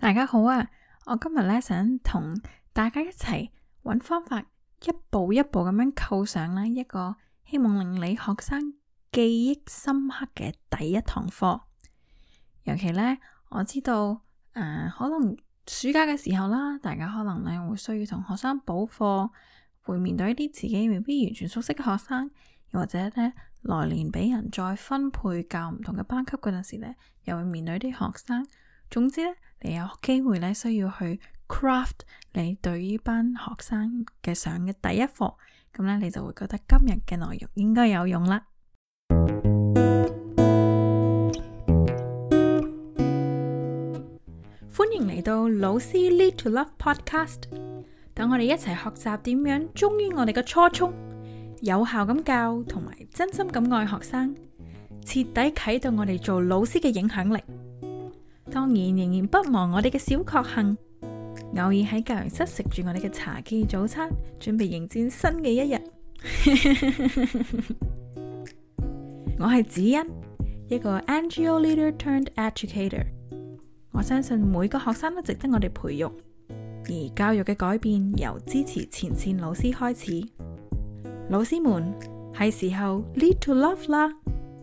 大家好啊！我今日想同大家一齊揾方法，一步一步咁樣構想一個希望令你學生記憶深刻嘅第一堂課。尤其我知道可能暑假嘅時候啦，大家可能會需要同學生補課，會面對一啲自己未必完全熟悉嘅學生，又或者來年俾人再分配教唔同嘅班級嗰陣時又會面對啲學生。總之你有機會需要去 craft 你對於班學生嘅上嘅第一課，咁你就會覺得今日嘅內容應該有用啦。歡迎嚟到老師 Lead to Love Podcast， 等我哋一齊學習點樣忠於我哋嘅初衷，有效咁教同埋真心咁愛學生，徹底啟動我哋做老師嘅影響力。當然仍然不忘我哋嘅小確幸，偶爾喺教研室食住我哋嘅茶記早餐，準備迎戰新嘅一日。我係子欣，一個 NGO leader turned educator。我相信每個學生都值得我哋培育，而教育嘅改變由支持前線老師開始。老師們，係時候 lead to love 啦！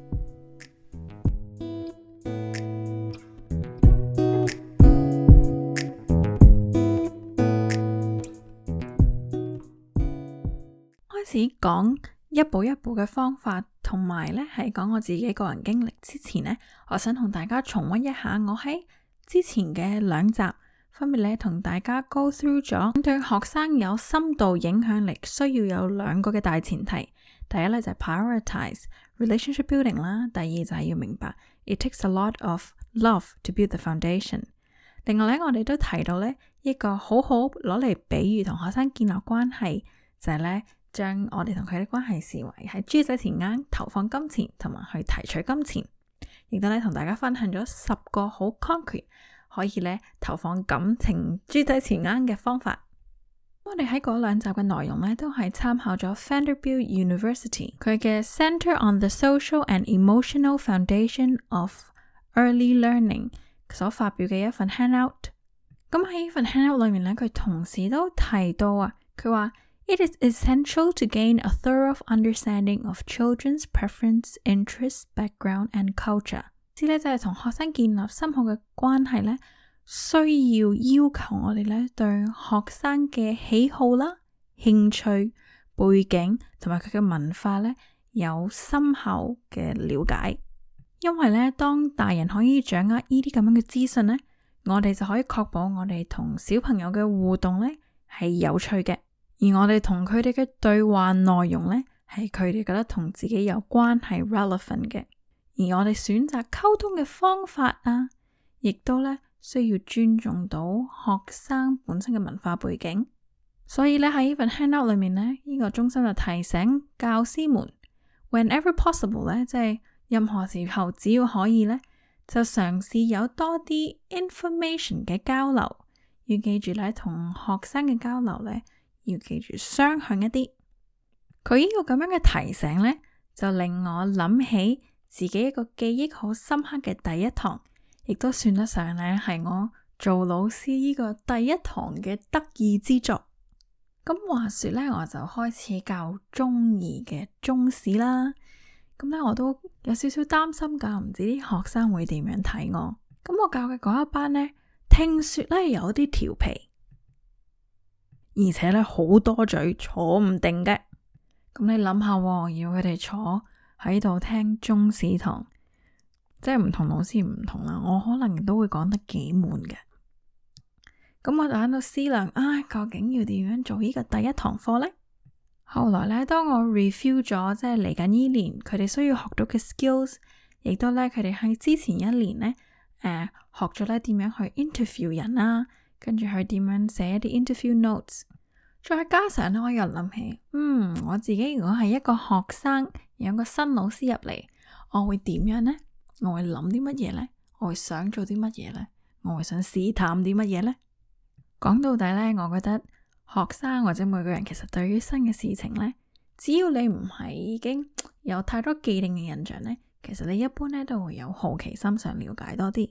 開始講一步一步嘅方法，同埋喺講我自己個人經歷之前我想同大家重溫一下我喺之前嘅兩集，分別同大家 go through 咗對學生有深度影響力需要有兩個嘅大前提。第一就係 prioritize relationship building 啦，第二就係要明白 it takes a lot of love to build the foundation。另外我哋都提到一個好好攞嚟比喻同學生建立關係，就係將我哋同佢嘅關係視為喺豬仔錢罌投放金錢，同埋去提取金錢，亦都同大家分享咗10個好 concrete 可以投放感情豬仔錢罌嘅方法。我哋喺嗰兩集嘅內容都係參考咗 Vanderbilt University 佢嘅 Center on the Social and Emotional Foundation of Early Learning 所發表嘅一份 handout。咁喺呢份 handout 裏面佢同時都提到佢話It is essential to gain a thorough understanding of children's preference, interests, background, and culture。就係同學生建立深厚嘅關係需要求我哋對學生嘅喜好啦、興趣、背景同埋佢嘅文化有深厚嘅了解。因為當大人可以掌握呢啲咁樣嘅資訊我哋就可以確保我哋同小朋友嘅互動係有趣嘅。而我哋同佢哋嘅對話內容係佢哋覺得同自己有關係 relevant 嘅，而我哋選擇溝通嘅方法亦都需要尊重到學生本身嘅文化背景。所以喺呢份 handout 裏面呢個中心就提醒教師們 whenever possible 即係任何時候只要可以就嘗試有多啲 information 嘅交流。要記住同學生嘅交流要記住雙向一啲。佢呢個咁樣嘅提醒就令我諗起自己一個記憶好深刻嘅第一堂，亦都算得上係我做老師呢個第一堂嘅得意之作。咁話說我就開始教中二嘅中史啦。咁我都有少少擔心教唔知啲學生會點樣睇我。咁我教嘅嗰一班聽說有啲調皮，而且好多嘴，坐唔定嘅。咁你諗下要佢哋坐喺度聽中史堂，即係唔同老師唔同啦。我可能都會講得幾悶嘅。咁我就喺度思量，究竟要點樣做呢個第一堂課呢？後來當我 review 咗即係嚟緊呢年佢哋需要學到嘅 skills， 亦都佢哋喺之前一年學咗點樣去 interview 人跟住去點樣寫一啲 interview notes， 再加上我又諗起，我自己如果係一個學生，有個新老師入嚟，我會點樣呢？我會諗啲乜嘢呢？我會想做啲乜嘢呢？我會想試探啲乜嘢呢？講到底我覺得學生或者每個人其實對於新嘅事情只要你唔係已經有太多既定嘅印象其實你一般都會有好奇心想了解多啲。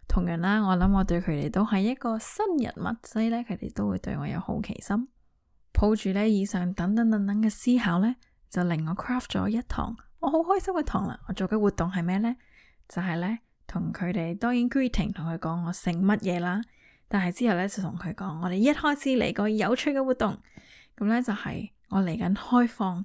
同樣啦，我諗我對佢哋都係一個新人物，所以咧佢哋都會對我有好奇心。抱住咧以上等等嘅思考咧，就令我 craft 咗一堂我好開心嘅堂啦。我做嘅活動係咩呢？就係咧同佢哋當然 greeting， 同佢講我姓乜嘢啦。但係之後咧就同佢講，我哋一開始嚟個有趣嘅活動。咁咧就係我嚟緊開放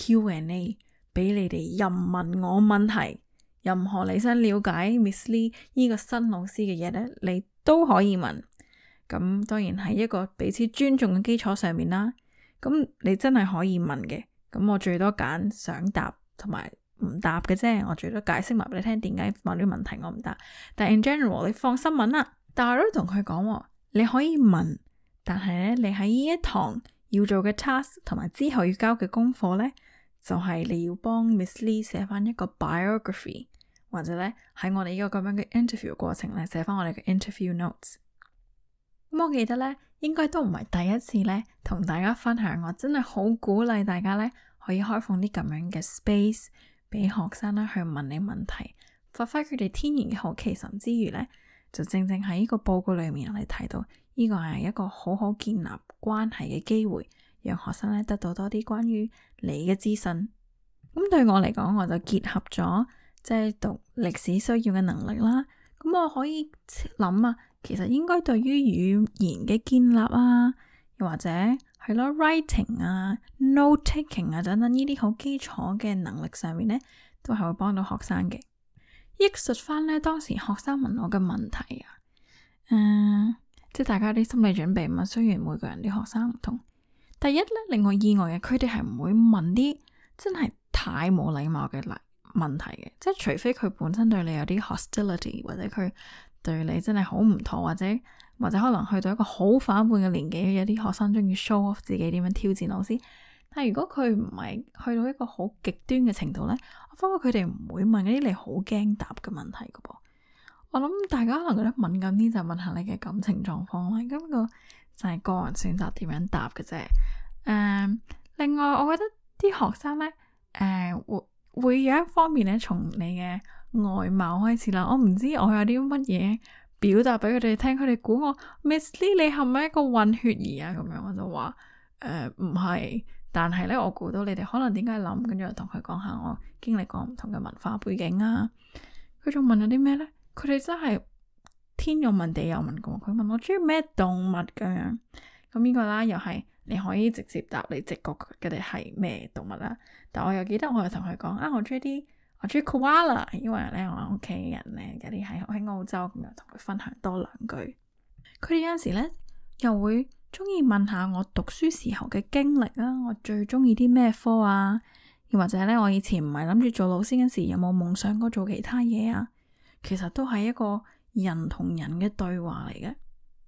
Q&A 俾你哋任問我問題，任何你想了解 Miss Lee 呢個新老師嘅嘢咧，你都可以問。咁當然係一個彼此尊重嘅基礎上面啦。咁你真係可以問嘅。咁我最多揀想答同埋唔答嘅啫。我最多解釋埋俾你聽點解問啲問題我唔答。但係 in general 你放心問啦。但係我都同佢講，你可以問，但係咧你喺呢一堂要做嘅 task 同埋之後要交嘅功課咧，就係你要幫 Miss Lee 寫翻一個 biography， 或者咧喺我哋呢個咁樣嘅 interview 過程咧寫翻我哋嘅 interview notes。咁我記得咧，應該都唔係第一次咧同大家分享，我真係好鼓勵大家咧可以開放啲咁樣嘅 space 俾學生咧去問你問題，發揮佢哋天然嘅好奇心之餘咧，就正正喺呢個報告裏面我哋睇到呢個係一個好好建立關係嘅機會，讓學生咧得到多啲關於你嘅資訊。咁對我嚟講，我就結合咗即係讀歷史需要嘅能力啦。咁我可以諗啊，其實應該對於語言嘅建立啊，又或者係咯 writing 啊、note taking 啊等等呢啲好基礎嘅能力上面呢，都係會幫到學生嘅。憶述翻呢，當時學生問我嘅問題啊，即係大家啲心理準備嘛。雖然每個人啲學生唔同，第一呢，令我意外嘅，佢哋係唔會問啲真係太冇禮貌嘅問題嘅，即係除非佢本身對你有啲 hostility， 或者佢對你真係好唔妥，或者可能去到一個好反叛嘅年紀，有啲學生中意 show off 自己點樣挑戰老師。但係如果佢唔係去到一個好極端嘅程度呢，我發覺佢哋唔會問嗰啲你好驚答嘅問題噶噃。我諗大家可能覺得敏感啲就問下你嘅感情狀況啦，咁個就係個人選擇點樣答嘅啫。另外我覺得啲學生呢，會有一方面咧，從你嘅外貌開始啦。我唔知我有啲乜嘢表達俾佢哋聽，佢哋估我 Miss Lee 你係咪一個混血兒啊？咁樣我就話唔係，但係咧我估到你哋可能點解諗，跟住我同佢講下我經歷過唔同嘅文化背景啊。佢仲問咗啲咩咧？佢哋真係天有問地有問過，佢問我中意咩動物咁樣。咁呢個啦又係你可以直接答你直覺佢哋係咩動物啦。但我又記得我又同佢講我中意 koala， 因為咧我屋企人咧有啲喺澳洲，咁又同佢分享多兩句。佢哋有陣時咧又會中意問下我讀書時候嘅經歷啦，我最中意啲咩科啊，又或者咧我以前唔係諗住做老師嗰時有冇夢想過做其他嘢啊。其實都係一個人同人嘅對話嚟嘅。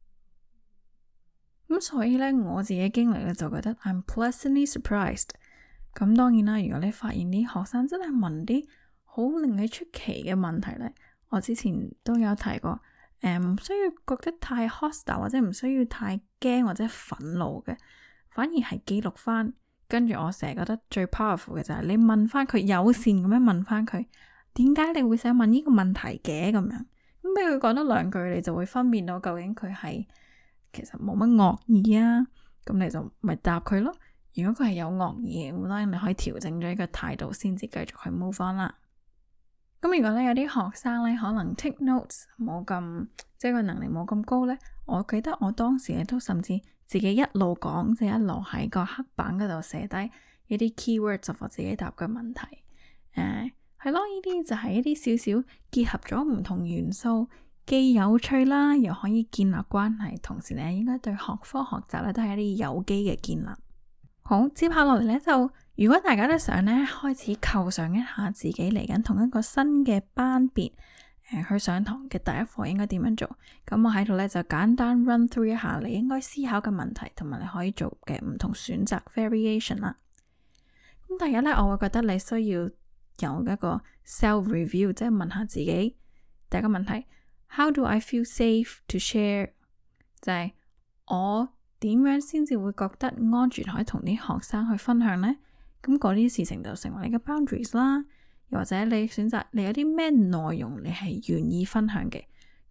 咁所以咧我自己經歷咧就覺得 I'm pleasantly surprised。咁當然啦，如果你發現啲學生真係問啲好令你出奇嘅問題咧，我之前都有提過，唔需要覺得太 hostile 或者唔需要太驚或者憤怒嘅，反而係記錄翻。跟住我成日覺得最 powerful 嘅就係你問翻佢，友善咁樣問翻佢，點解你會想問呢個問題嘅咁樣？咁俾佢講多兩句，你就會分辨到究竟佢係其實冇乜惡意啊。咁你就咪答佢咯。如果佢係有惡意嘅，咁當然你可以調整咗呢個態度，先至繼續去 move on 啦。咁如果咧有啲學生咧可能 take notes 冇咁，即係個能力冇咁高咧，我記得我當時咧都甚至自己一路講，即係一路喺個黑板嗰度寫低一啲 keywords 就我自己答嘅問題。係咯，呢啲就係一啲少少結合咗唔同元素，既有趣啦，又可以建立關係，同時咧應該對學科學習咧都係一啲有機嘅建立。好，接下落嚟咧就，如果大家都想咧開始構想一下自己嚟緊同一個新嘅班別，去上堂嘅第一課應該點樣做？咁我喺度咧就簡單 run through 一下你應該思考嘅問題，同埋你可以做嘅唔同選擇 variation 啦。咁第一咧，我會覺得你需要有一個 self review， 即係問下自己第一個問題 ：How do I feel safe to share？ 就係我點樣先至會覺得安全可以同啲學生去分享呢？咁嗰啲事情就成為你嘅 boundaries 啦。又或者你選擇你有啲咩內容你係願意分享嘅，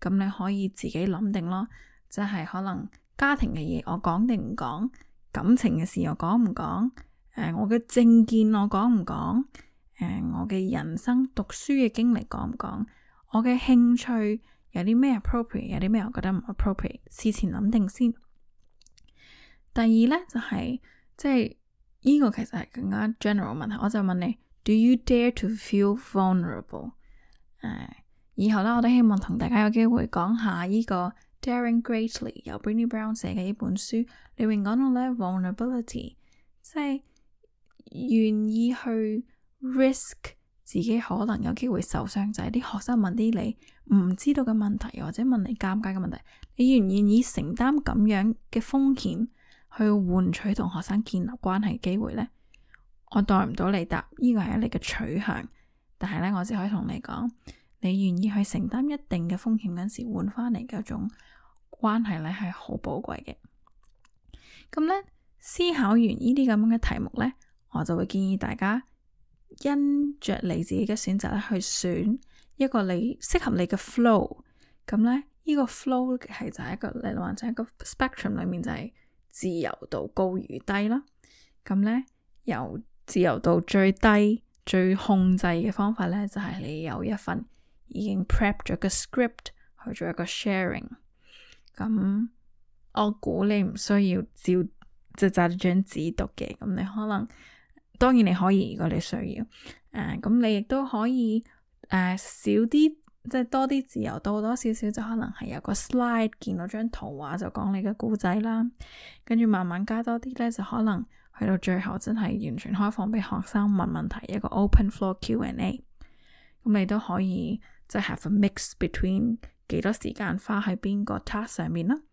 咁你可以自己諗定咯，即係可能家庭嘅嘢我講定唔講，感情嘅事我講唔講，我嘅政見我講唔講，我嘅人生讀書嘅經歷講唔講，我嘅興趣有啲咩 appropriate， 有啲咩我覺得唔 appropriate， 事前諗定先。第二呢，就係即係呢個其實係更加 general 問題，我就問你 Do you dare to feel vulnerable？ 以後呢，我都希望同大家有機會講下呢個 Daring Greatly 由 Brené Brown 寫嘅呢本書，裏面講到呢 vulnerability， 即係願意去 risk 自己可能有機會受傷，就係啲學生問啲你唔知道嘅問題，或者問你尷尬嘅問題，你願唔願意承擔咁樣嘅風險去換取同學生建立關係機會呢？我代唔到你答，呢個係你嘅取向，但係呢，我只可以同你講，你願意去承擔一定嘅風險嗰時換翻嚟嘅一種關係呢，係好寶貴嘅。咁呢，思考完呢啲咁樣嘅題目呢，我就會建議大家因着你自己嘅選擇咧，去選一個你適合你嘅 flow。咁呢，呢個 flow 係就係一個例如話就係一個 spectrum 裏面就係自由度高與低啦。咁呢，由自由度最低最控制嘅方法呢，就係你有一份已經 prep 咗個 script 去做一個 sharing。咁我估你唔需要照即係揸住張紙讀嘅，咁你可能當然你可以，如果你需要，咁你亦都可以少啲，即係多啲自由度多少少，就可能係有個 slide 見到張圖畫就講你嘅故仔啦，跟住慢慢加多啲呢，就可能去到最後真係完全開放俾學生問問題，一個 open floor Q&A。咁你都可以即係 have a mix between 幾多時間花喺邊個 task 上面啦。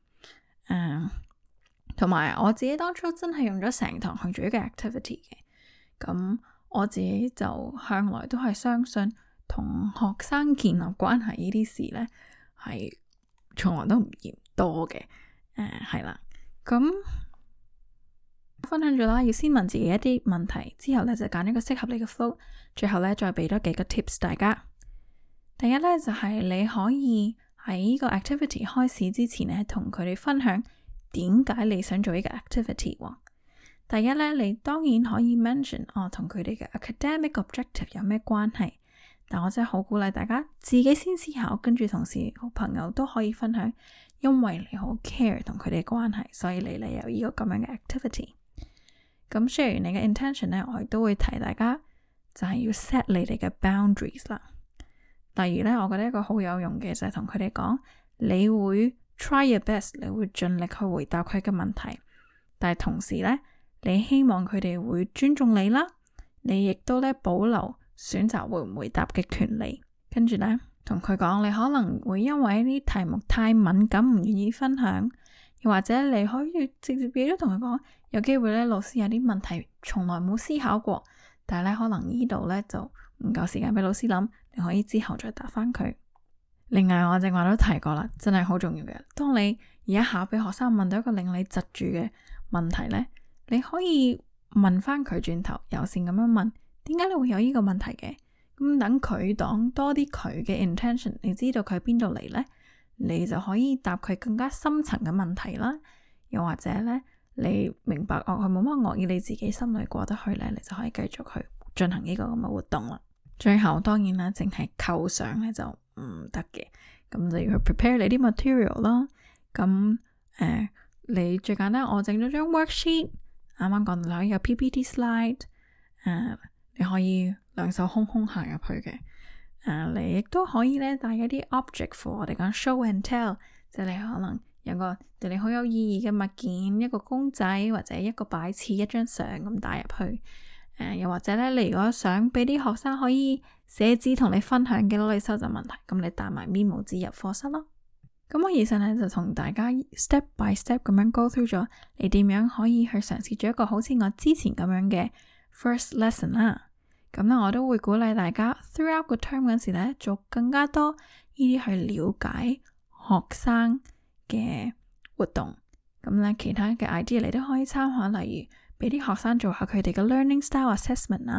同埋我自己當初真係用咗成堂去做一個 activity 嘅。咁我自己就向來都係相信同學生建立關係呢啲事呢，係從來都唔嫌多嘅。係啦，咁分享咗啦，要先問自己一啲問題，之後呢就揀一個適合你嘅 flow， 最後呢再俾多幾個 tips 大家。第一呢，就係你可以喺呢個 activity 開始之前呢，同佢哋分享點解你想做呢個 activity。第一呢，你當然可以 mention 同佢哋嘅 academic objective 有咩關係，但我真係好鼓勵大家自己先思考，跟住同事好朋友都可以分享，因為你好 care 同佢哋關係，所以你嚟有呢個咁樣嘅 activity。咁 share 完你嘅 intention 呢，我亦都會提大家就係要 set 你哋嘅 boundaries 啦。例如呢，我覺得一個好有用嘅就係同佢哋講，你會 try your best， 你會盡力去回答佢嘅問題，但係同時呢，你希望佢哋會尊重你啦，你亦都呢保留選擇會唔回答嘅權利。跟住呢，同佢講，你可能會因為呢啲題目太敏感唔願意分享，又或者你可以直接俾咗同佢講，有機會呢老師有啲問題從來冇思考過，但係呢可能呢度呢就唔夠時間俾老師諗，你可以之後再答翻佢。另外我正話都提過啦，真係好重要嘅，當你而家考俾學生問到一個令你窒住嘅問題呢，你可以問翻佢轉頭，友善咁樣問，點解你會有呢個問題嘅？咁等佢講多啲佢嘅 intention， 你知道佢喺邊度嚟呢，你就可以答佢更加深層嘅問題啦。又或者呢，你明白佢冇乜惡意，你自己心裏過得去呢，你就可以繼續去進行呢個咁嘅活動啦。最後當然啦，淨係構想呢就唔得嘅，咁就要去 prepare 你啲 material 啦。咁你最簡單，我整咗張 worksheet， 啱啱講到有 PPT slide， 你可以兩手空空行入去嘅。你亦都可以咧帶一啲 object for 我哋講 show and tell， 即係你可能有個對你好有意義嘅物件，一個公仔或者一個擺設，一張相咁帶入去。又或者咧，你如果想俾啲學生可以寫字同你分享嘅，攞嚟收集問題，咁你帶埋 memo 紙入課室咯。咁我以上咧就同大家 step by step 咁樣 go through 咗，你點樣可以去嘗試做一個好似我之前咁樣嘅 first lesson 啦。咁咧我都會鼓勵大家 throughout 個 term 嗰時咧做更加多呢啲去了解學生嘅活動。咁咧其他嘅 idea 你都可以參考，例如俾啲學生做下佢哋嘅 learning style assessment 啊，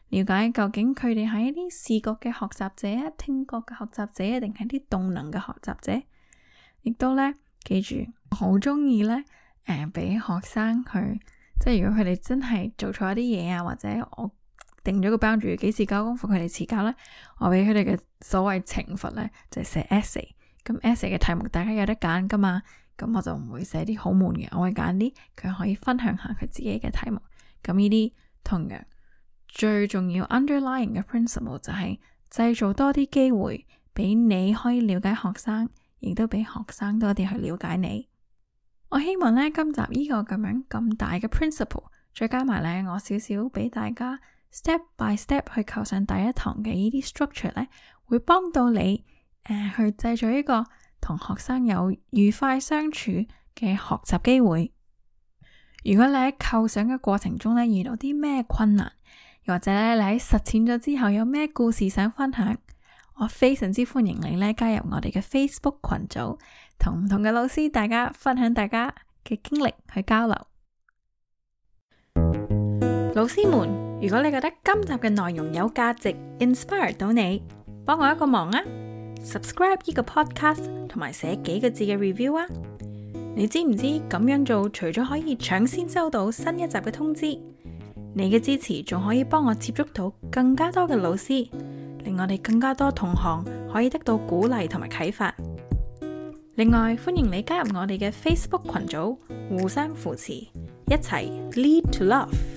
了解究竟佢哋係一啲視覺嘅學習者啊、聽覺嘅學習者，定係啲動能嘅學習者。亦都咧，記住，我好中意咧，俾學生去，即係如果佢哋真係做錯一啲嘢啊，或者我定咗個 boundary，幾時交功課佢哋遲交咧，我俾佢哋嘅所謂懲罰咧，就係寫 essay。咁 essay 嘅題目大家有得揀噶嘛，咁我就唔會寫啲好悶嘅，我會揀啲佢可以分享下佢自己嘅題目。咁呢啲同樣最重要 underlying 嘅 principle 就係製造多啲機會俾你可以了解學生，亦都俾學生多啲去了解你。我希望呢，今集呢個咁大嘅 principle， 再加埋呢我少少俾大家 step by step 去構上第一堂嘅呢啲 structure 呢，會幫到你去製造一個同學生有愉快相處嘅學習機會。如果你喺構想嘅過程中呢，遇到啲咩困難，又或者咧你喺實踐咗之後有咩故事想分享，我非常之歡迎你咧加入我哋嘅 Facebook 群組，同唔同嘅老師大家分享大家嘅經歷去交流。老師們，如果你覺得今集嘅內容有價值 inspire 到你，幫我一個忙啊， subscribe 呢個 podcast 同埋寫幾個字嘅 review 啊。你知唔知咁樣做除咗可以搶先收到新一集嘅通知，你嘅支持仲可以幫我接觸到更加多嘅老師，令我哋更加多同行可以得到鼓勵同埋啟發。另外，歡迎你加入我哋嘅 Facebook 群組，互相扶持，一齊 Lead to Love。